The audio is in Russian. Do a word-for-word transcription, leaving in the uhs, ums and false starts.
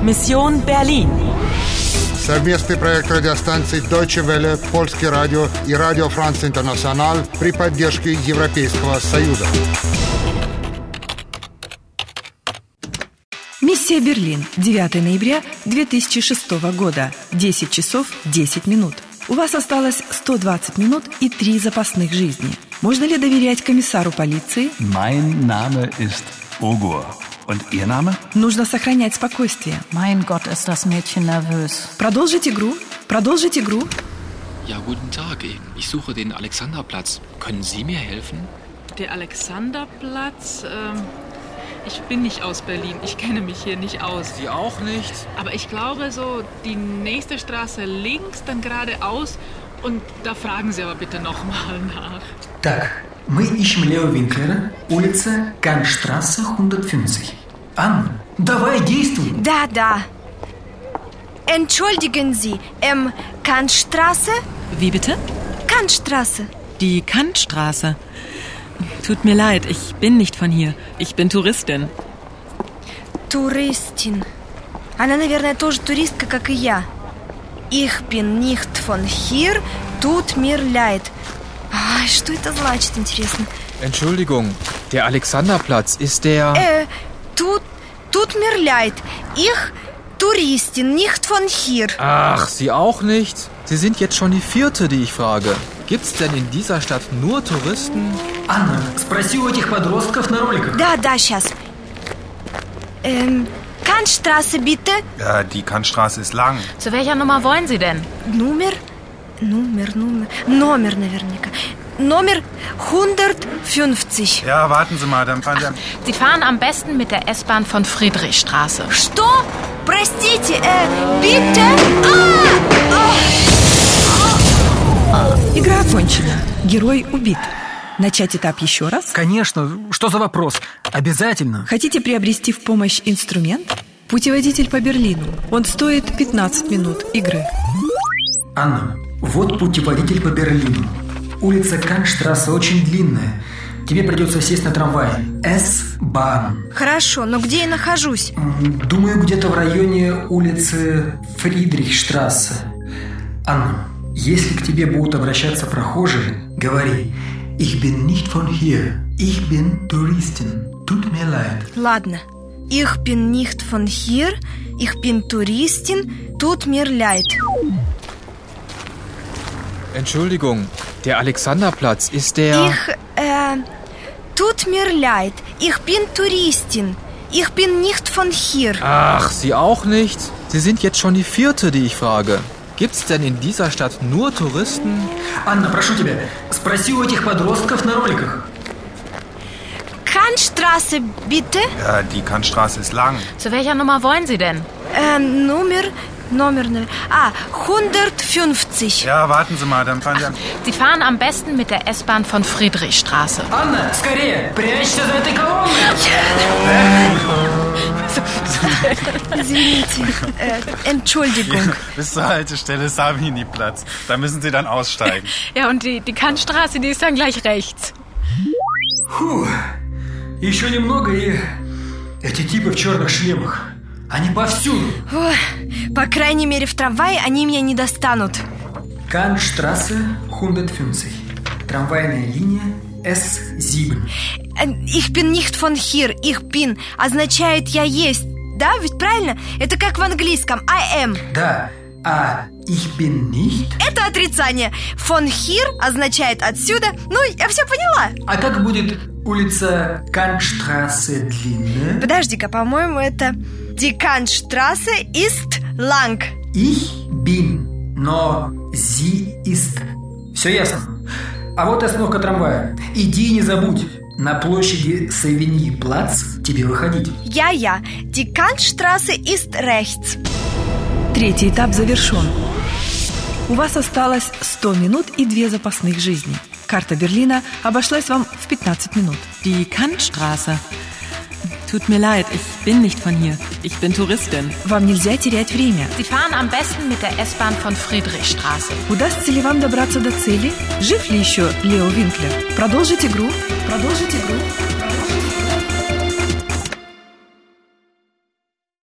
Mission Berlin. Совместный проект радиостанций Deutsche Welle, Польский радио и Радио Франц Интернациональ при поддержке Европейского Союза. Миссия Берлин. девятого ноября две тысячи шестого года. десять часов десять минут. У вас осталось сто двадцать минут и три запасных жизни. Можно ли доверять комиссару полиции? Mein Name ist Ogur. Und Ihr Name? Нужно сохранять спокойствие. Mein Gott, ist das Mädchen nervös. Продолжить игру. Продолжить игру. Ja, guten Tag. Ich suche den Alexanderplatz. Können Sie mir helfen? Der Alexanderplatz? Ähm, ich bin nicht aus Berlin. Ich kenne mich hier nicht aus. Sie auch nicht? Aber ich glaube so, die nächste Straße links, dann geradeaus. Und da fragen Sie aber bitte nochmal nach. Так, мы ищем Лео Винклера, улица Канштрассе hundertfünfzig. Анна, давай, действуй. Да, да. Entschuldigen Sie, ähm, Kantstraße? Wie bitte? Kantstraße. Die Kantstraße. Tut mir leid, ich bin nicht von hier. Ich bin Touristin. Touristin. Она, наверное, тоже туристка, как и я. Ich bin nicht von hier, tut mir leid. А, что это значит, интересно? Entschuldigung, der Alexanderplatz ist der... Äh, tut, tut mir leid. Ich, Touristin, nicht von hier. Ach, Sie auch nicht? Sie sind jetzt schon die vierte, die ich frage. Gibt's denn in dieser Stadt nur Touristen? Анна, спроси у этих подростков на роликах. Да, да, сейчас. Ähm, Kantstraße, bitte. Ja, die Kantstraße ist lang. Zu welcher Nummer wollen Sie denn? Nummer? Nummer, Nummer. Номер, наверняка. Номер hundertfünfzig. Ja, warten Sie mal, dann fahren Sie... Am Sie fahren am besten mit der S-Bahn von Friedrichstraße. Что? Простите, äh, bitte? А! Игра окончена. Герой убит. Начать этап еще раз? Конечно, что за вопрос? Обязательно. Хотите приобрести в помощь инструмент? Путеводитель по Берлину. Он стоит пятнадцать минут игры. Анна, вот путеводитель по Берлину. Улица Канштрассе очень длинная. Тебе придется сесть на трамвай. S-Bahn. Хорошо, но где я нахожусь? Думаю, где-то в районе улицы Фридрихштрассе. Анна, если к тебе будут обращаться прохожие, говори: Ich bin nicht von hier. Ich bin Touristin. Tut mir leid. Ладно. Ich bin nicht von hier. Ich bin Touristin. Tut mir leid. Entschuldigung, der Alexanderplatz ist der... Ich, äh, tut mir leid. Ich bin Touristin. Ich bin nicht von hier. Ach, Sie auch nicht? Sie sind jetzt schon die vierte, die ich frage. Gibt's denn in dieser Stadt nur Touristen? Анна, прошу тебя, спроси у этих подростков на роликах. Kantstraße, bitte. Ja, die Kantstraße ist lang. Zu welcher Nummer wollen Sie denn? Ähm, Nummer, Nummer, ah, hundertfünfzig. Ja, warten Sie mal, dann fahren Sie... Am Sie fahren am besten mit der S-Bahn von Friedrichstraße. Анна, скорее, прячься за этой колонной. Извините, äh, Entschuldigung. Bis zur Haltestelle Savini-Platz. Da müssen Sie dann aussteigen. Ja, und die, die Kantstraße, die ist dann gleich rechts. Фу, еще немного, и эти типы в черных шлемах. Они повсюду. Ой, по крайней мере, в трамвае они меня не достанут. Канштрассе hundertfünfzig. Трамвайная линия эс семь. Ich bin nicht von hier. Ich bin означает «я есть». Да, ведь правильно? Это как в английском I am. Да, а ich bin nicht? Это отрицание. Von hier означает «отсюда». Ну, я все поняла. А как будет улица Канштрассе длинная? Подожди-ка, по-моему, это Die Kantstraße ist lang. Ich bin, но sie ist. Все ясно. А вот и остановка трамвая. Иди и не забудь. На площади Савиньи-Плац тебе выходить. Я-я. Die Kantstraße ist rechts. Третий этап завершен. У вас осталось сто минут и две запасных жизни. Карта Берлина обошлась вам в пятнадцать минут. Die Kantstraße. Tut mir leid, ich bin nicht von hier. Ich bin Touristin. Вам нельзя терять время. Sie fahren am besten mit der S-Bahn von Friedrichstraße. Удастся ли вам добраться до цели? Жив ли еще Лео Винклер? Продолжить игру. Продолжить игру.